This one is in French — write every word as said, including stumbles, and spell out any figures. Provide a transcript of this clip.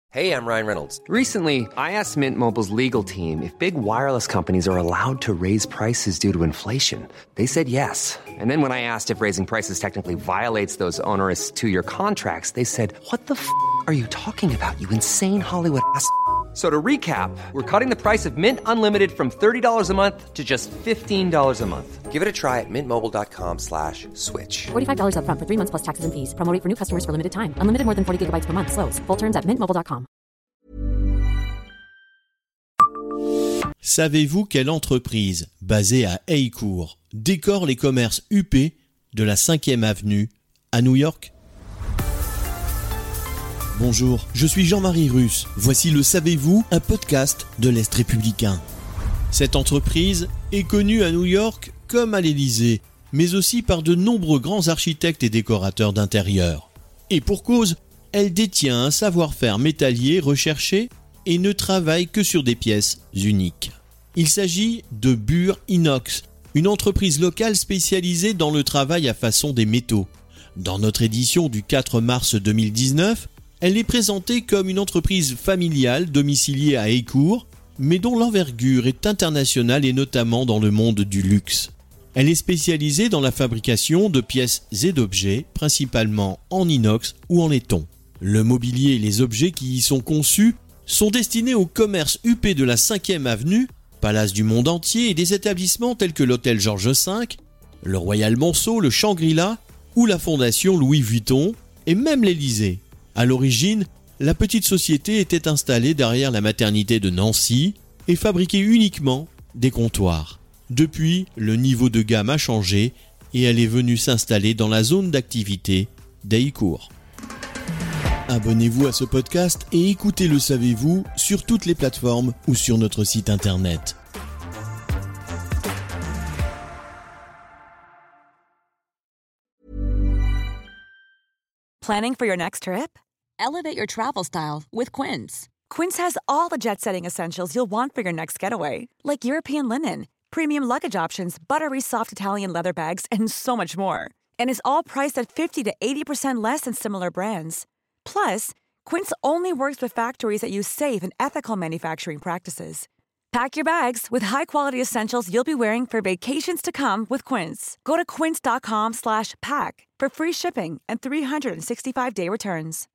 Hey, I'm Ryan Reynolds. Recently, I asked Mint Mobile's legal team if big wireless companies are allowed to raise prices due to inflation. They said yes. And then when I asked if raising prices technically violates those onerous two-year contracts, they said, what the f*** are you talking about, you insane Hollywood ass f- So to recap, we're cutting the price of Mint Unlimited from thirty dollars a month to just fifteen dollars a month. Give it a try at mintmobile.com slash switch. forty-five dollars up front for three months plus taxes and fees. Promo rate for new customers for limited time. Unlimited more than forty gigabytes per month. Slows full terms at mint mobile dot com. Savez-vous quelle entreprise, basée à Haycourt, décore les commerces huppés de la cinquième avenue à New York ? Bonjour, je suis Jean-Marie Russe. Voici le Savez-vous, un podcast de l'Est républicain. Cette entreprise est connue à New York comme à l'Élysée, mais aussi par de nombreux grands architectes et décorateurs d'intérieur. Et pour cause, elle détient un savoir-faire métallier recherché et ne travaille que sur des pièces uniques. Il s'agit de Bure Inox, une entreprise locale spécialisée dans le travail à façon des métaux. Dans notre édition du quatre mars deux mille dix-neuf, elle est présentée comme une entreprise familiale domiciliée à Haycourt, mais dont l'envergure est internationale et notamment dans le monde du luxe. Elle est spécialisée dans la fabrication de pièces et d'objets, principalement en inox ou en laiton. Le mobilier et les objets qui y sont conçus sont destinés au commerce huppé de la cinquième avenue, Palace du monde entier et des établissements tels que l'hôtel Georges cinq, le Royal Monceau, le Shangri-La ou la Fondation Louis Vuitton et même l'Élysée. À l'origine, la petite société était installée derrière la maternité de Nancy et fabriquait uniquement des comptoirs. Depuis, le niveau de gamme a changé et elle est venue s'installer dans la zone d'activité d'Haycourt. Abonnez-vous à ce podcast et écoutez Le Savez-vous sur toutes les plateformes ou sur notre site internet. Planning for your next trip? Elevate your travel style with Quince. Quince has all the jet-setting essentials you'll want for your next getaway, like European linen, premium luggage options, buttery soft Italian leather bags, and so much more. And is all priced at fifty to eighty percent less than similar brands. Plus, Quince only works with factories that use safe and ethical manufacturing practices. Pack your bags with high-quality essentials you'll be wearing for vacations to come with Quince. Go to quince.com slash pack for free shipping and three sixty-five day returns.